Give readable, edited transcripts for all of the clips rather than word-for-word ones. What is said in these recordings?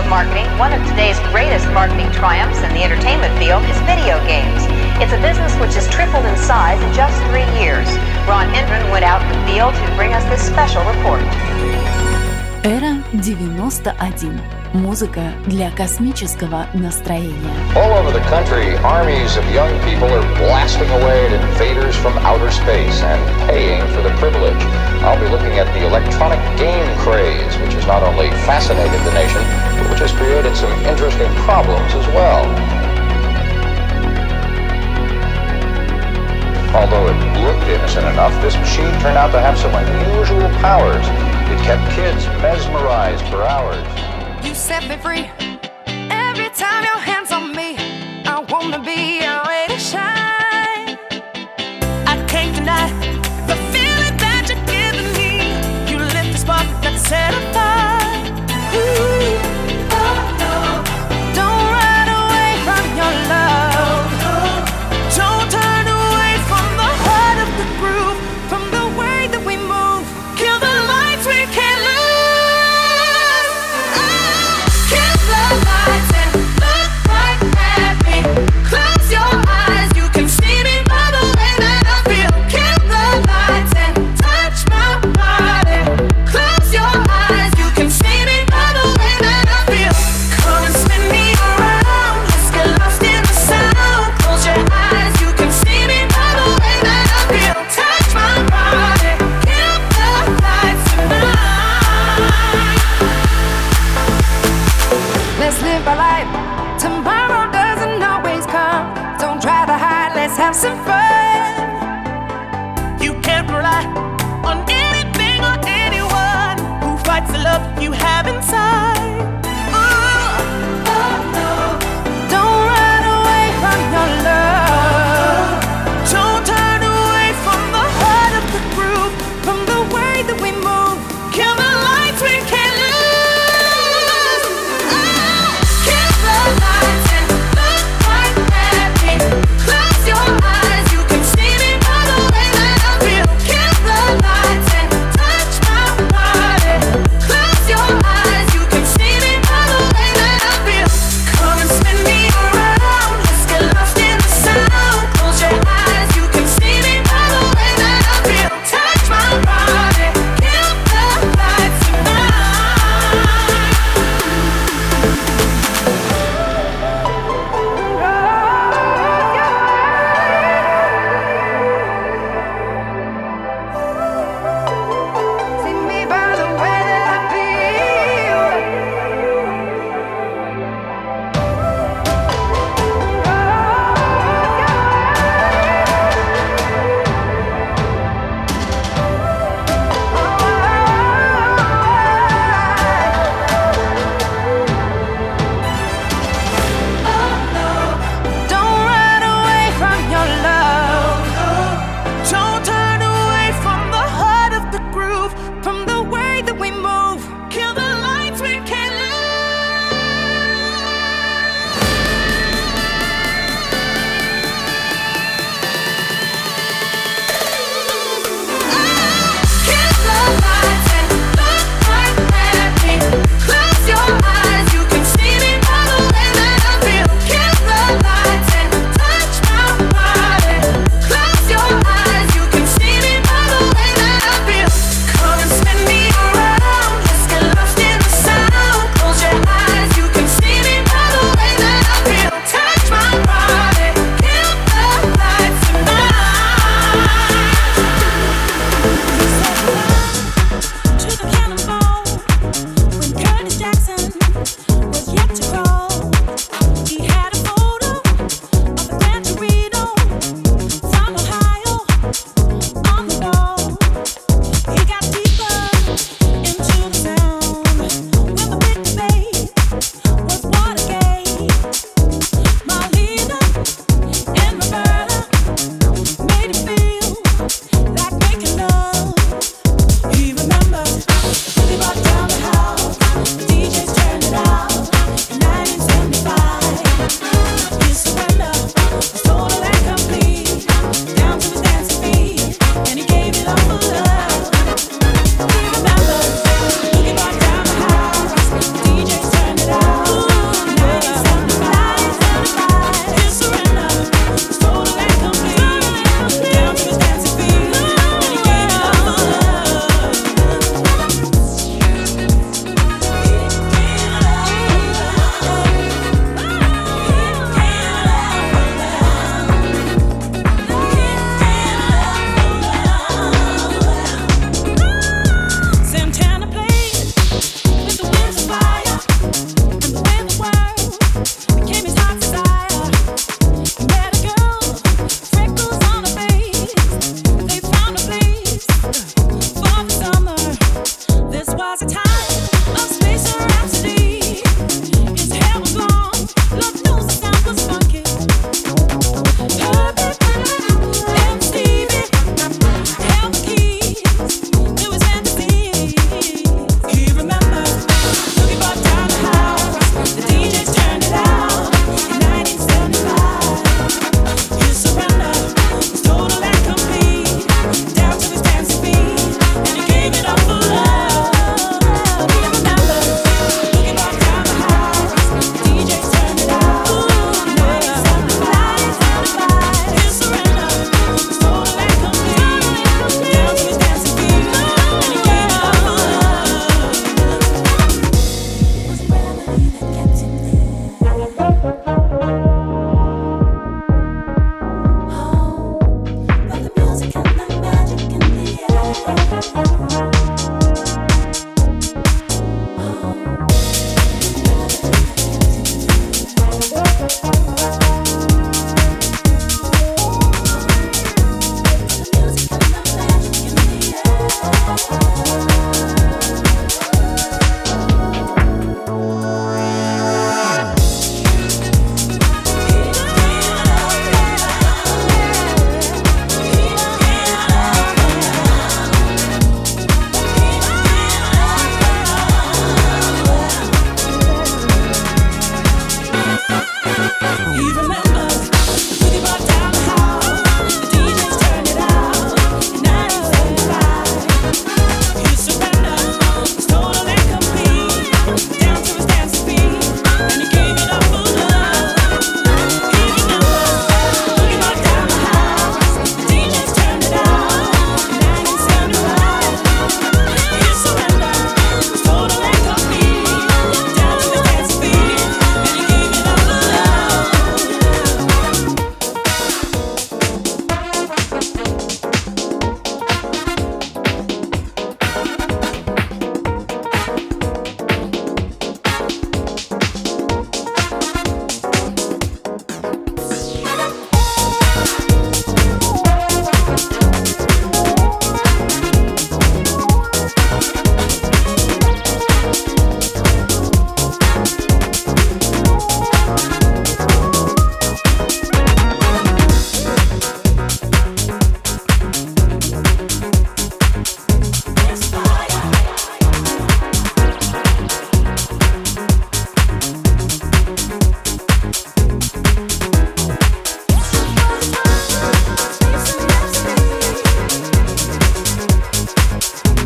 marketing, one of today's greatest marketing triumphs in the entertainment field is video games. It's a business which has tripled in size in just 3 years. Ron Hendren went out in the field to bring us this special report. Эра 91. Музыка для космического настроения. All over the country, armies of young people are blasting away at invaders from outer space and paying for the privilege. I'll be looking at the electronic game craze, which has not only fascinated the nation, but which has created some interesting problems as well. Although it looked innocent enough, this machine turned out to have some unusual powers. It kept kids mesmerized for hours. You set me free. Every time your hands on me, I wanna be your way to shine. I can't deny the feeling that you're giving me. You lit the spark that set a fire. Ooh, oh no. Don't run away from your love. Don't turn away from the heart of the groove, from the way that we move. Kill the lights we can't lose. Have some fun. You can't rely on anything or anyone who fights the love you have inside. Ooh, oh no. Don't run away from your love. Don't turn away from the heart of the groove, from the way that we move. Kill the lights we can't lose. Oh, kill the lights and look right at me. Close your eyes, you can see me by the way that I feel. Kill the lights and touch my body. Close your eyes, you can see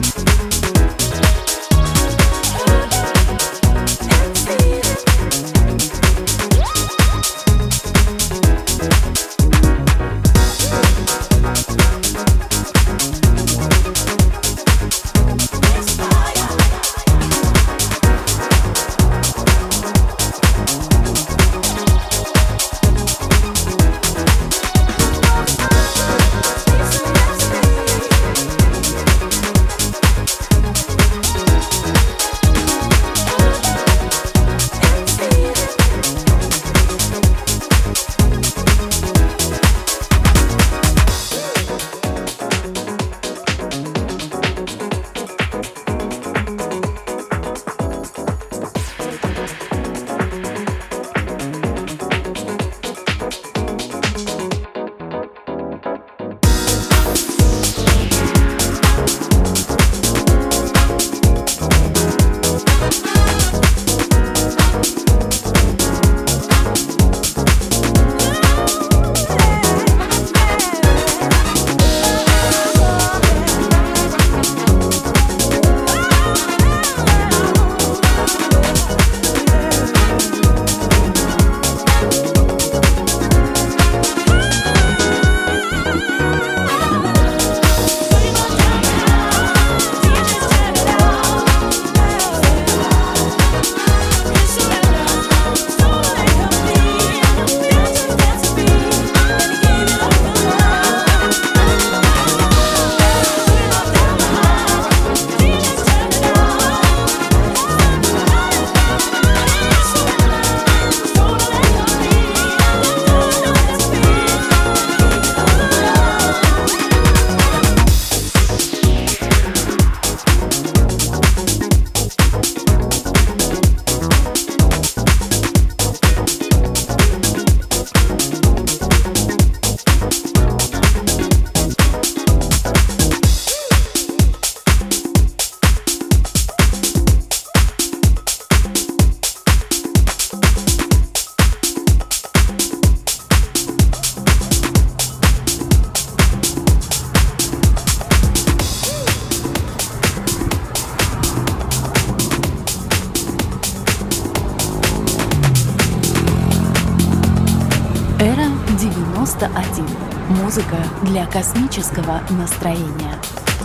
91. Музыка для космического настроения.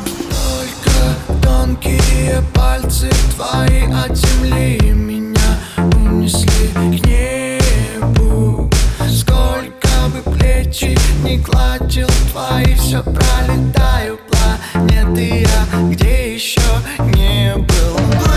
Только тонкие пальцы твои от земли меня унесли к небу. Сколько бы плечи не гладил твои, все пролетаю планеты я, где еще не был.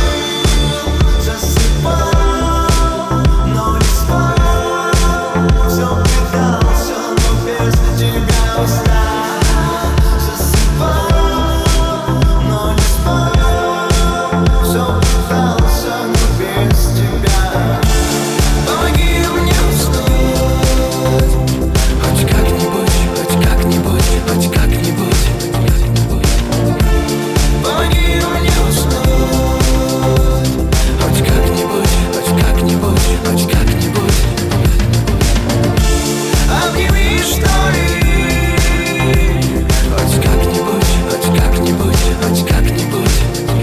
Плыл, засыпал, но не спал, все пытался, но без тебя устал. Засыпал, но не спал, все пытался, но без тебя. Помоги мне уснуть, хоть как-нибудь, хоть как-нибудь, хоть как-нибудь. Помоги мне уснуть, хоть как-нибудь, хоть как-нибудь, хоть как-нибудь. Обними, что ли, хоть как-нибудь, хоть как-нибудь, хоть как-нибудь.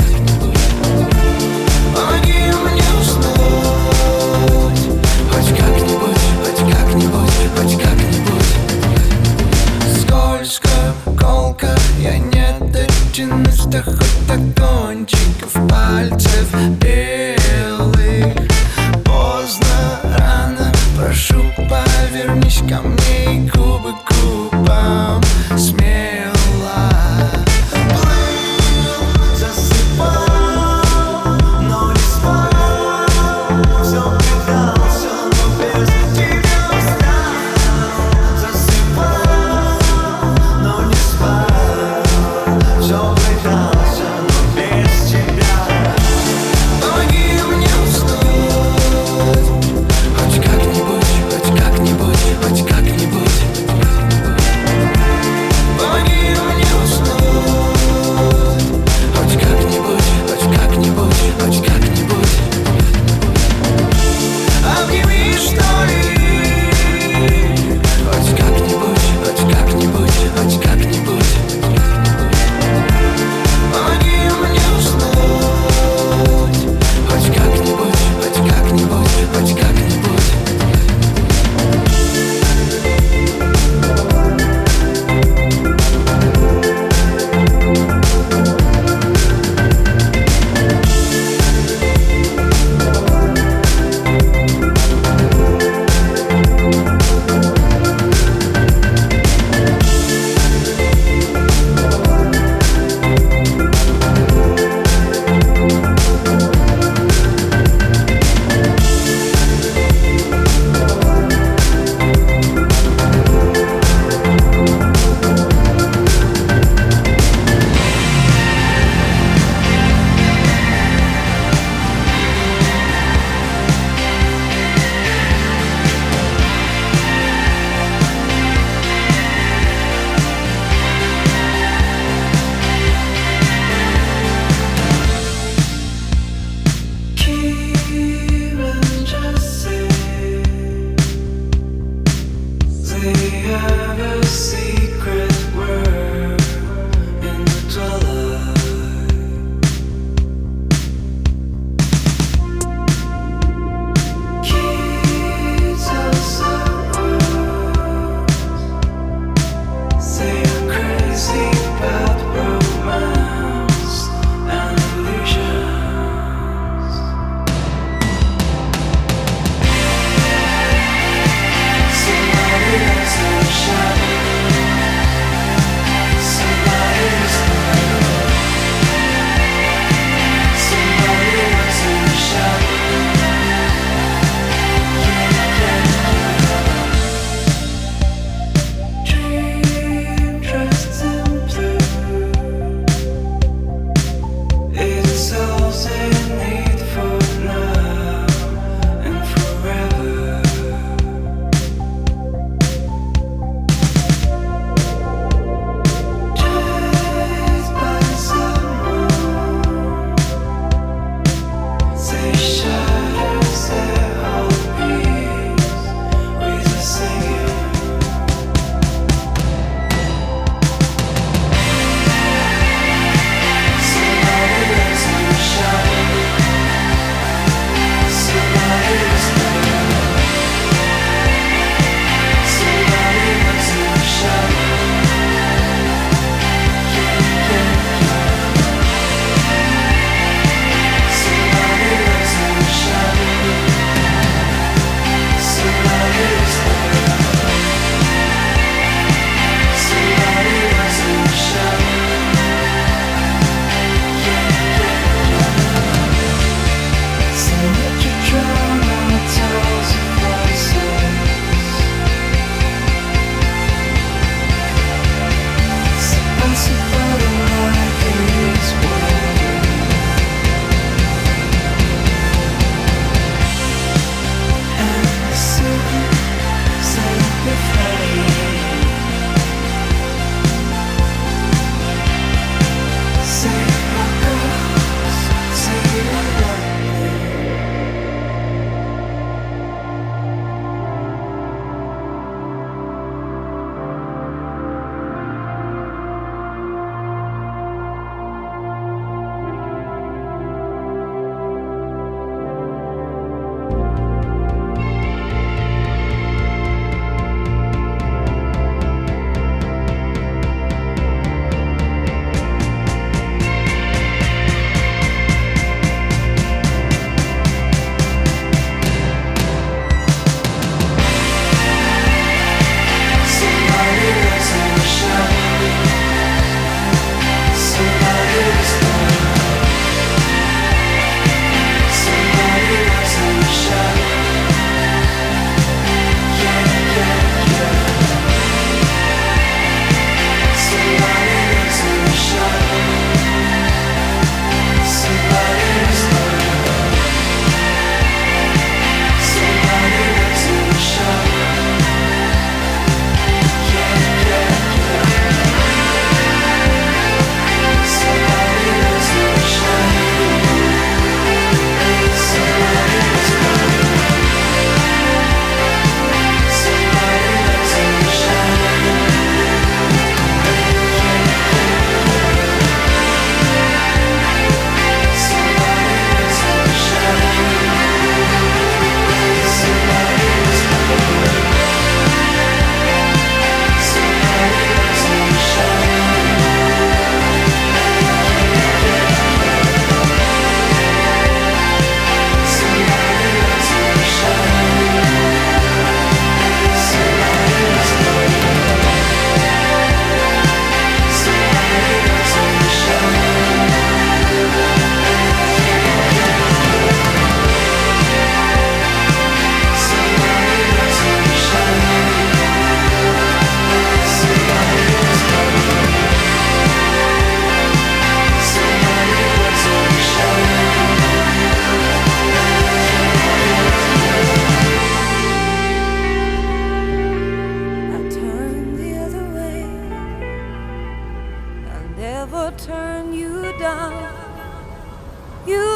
Помоги мне уснуть, хоть как-нибудь, хоть как-нибудь, хоть как-нибудь. Скользко, колко, я не дотянусь до хоть до кончиков пальцев белых. Поздно, рано, прошу, повернись ко мне и губы к губам смело. Плыл, засыпал, но не спал, все пытался, но без тебя устал. Засыпал, но не спал, все пытался, но без тебя. Помоги мне уснуть, хоть как-нибудь, хоть как-нибудь, хоть как-нибудь.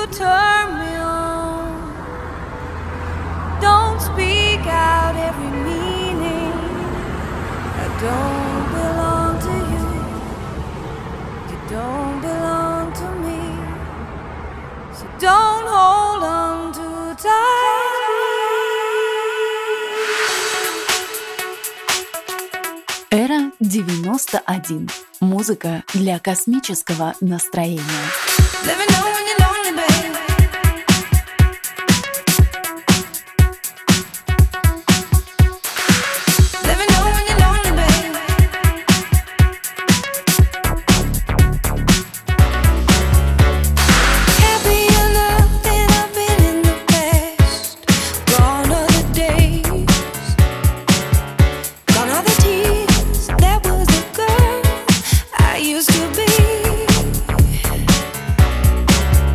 turn me on. Don't speak out every meaning. I don't belong to you. You don't belong to me. So don't hold on too tightly. Эра 91. Музыка для космического настроения. Let me know when you're lonely, baby. Let me know when you're lonely, baby. Happier love than I've been in the past. Gone are the days, gone are the tears. That was the girl I used to be.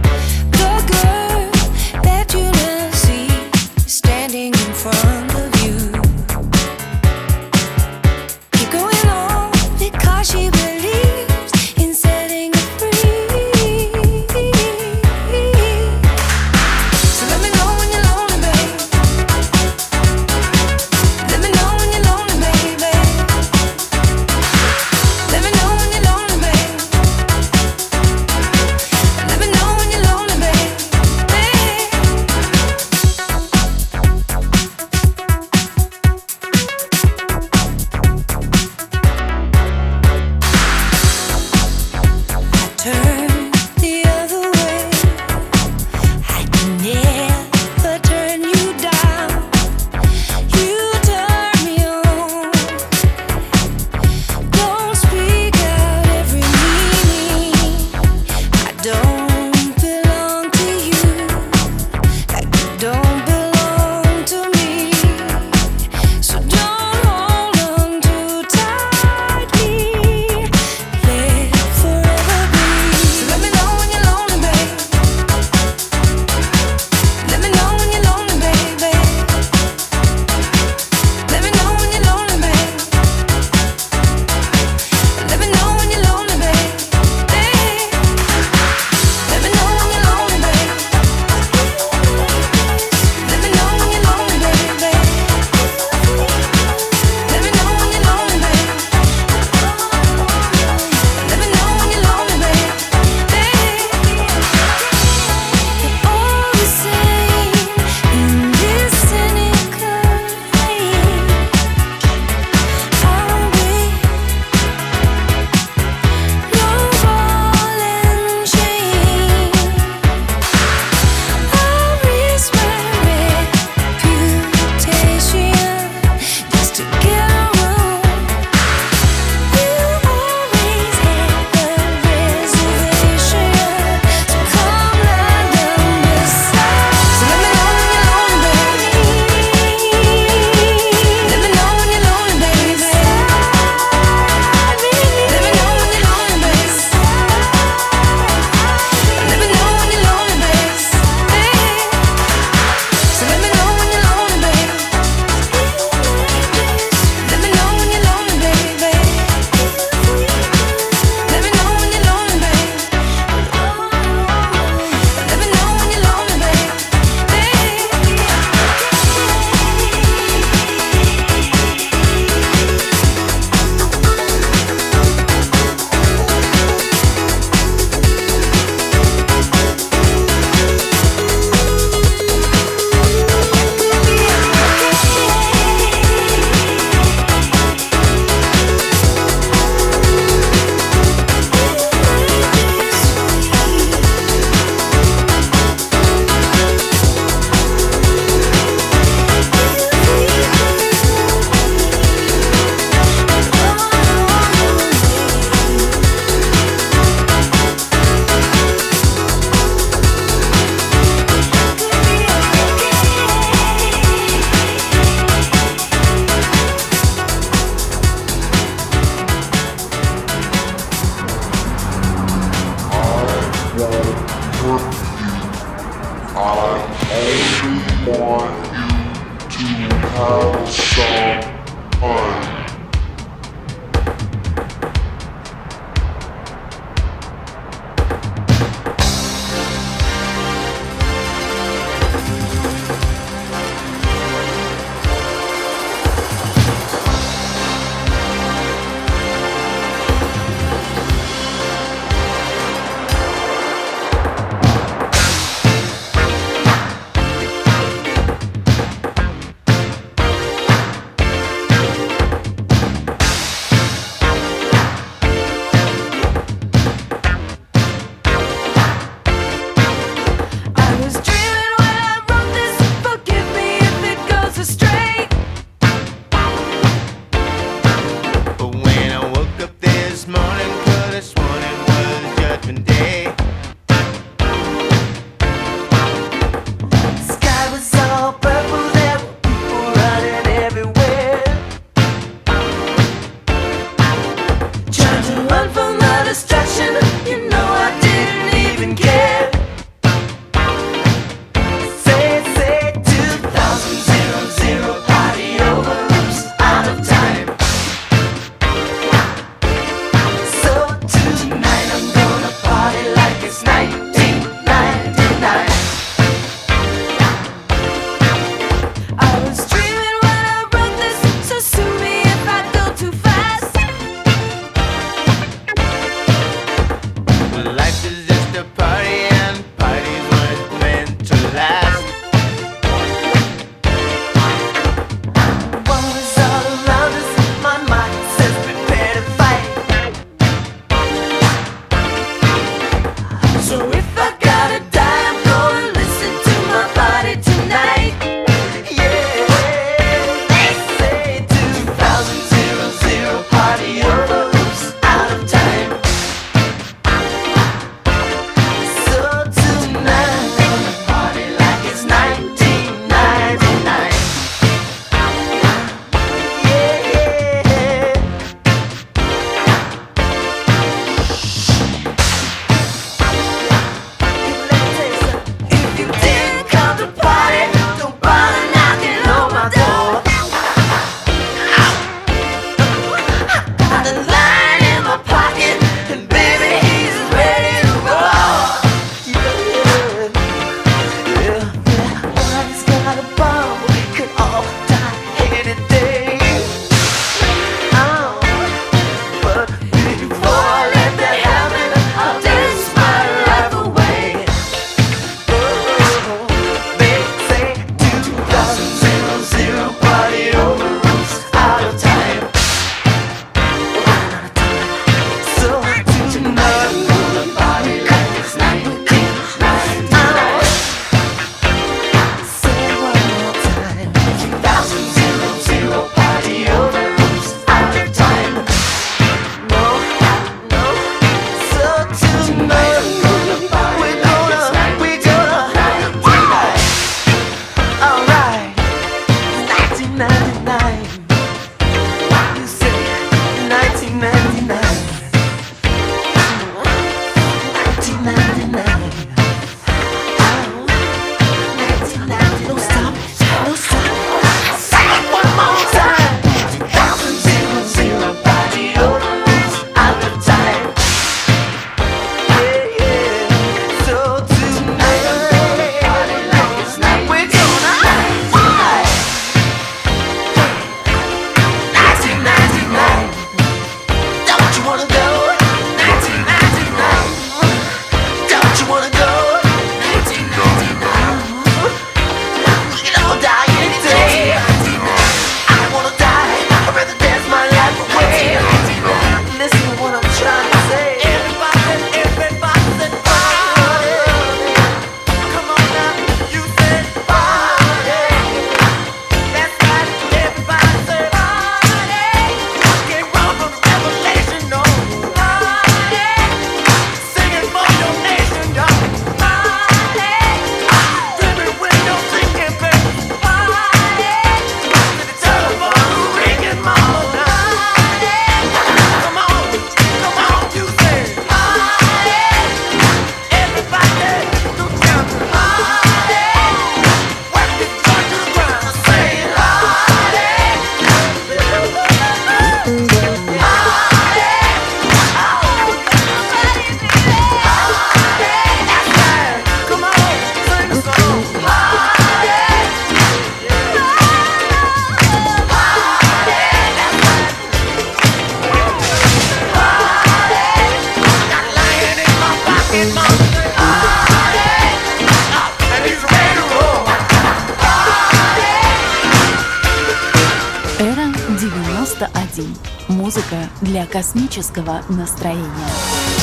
91. Музыка для космического настроения.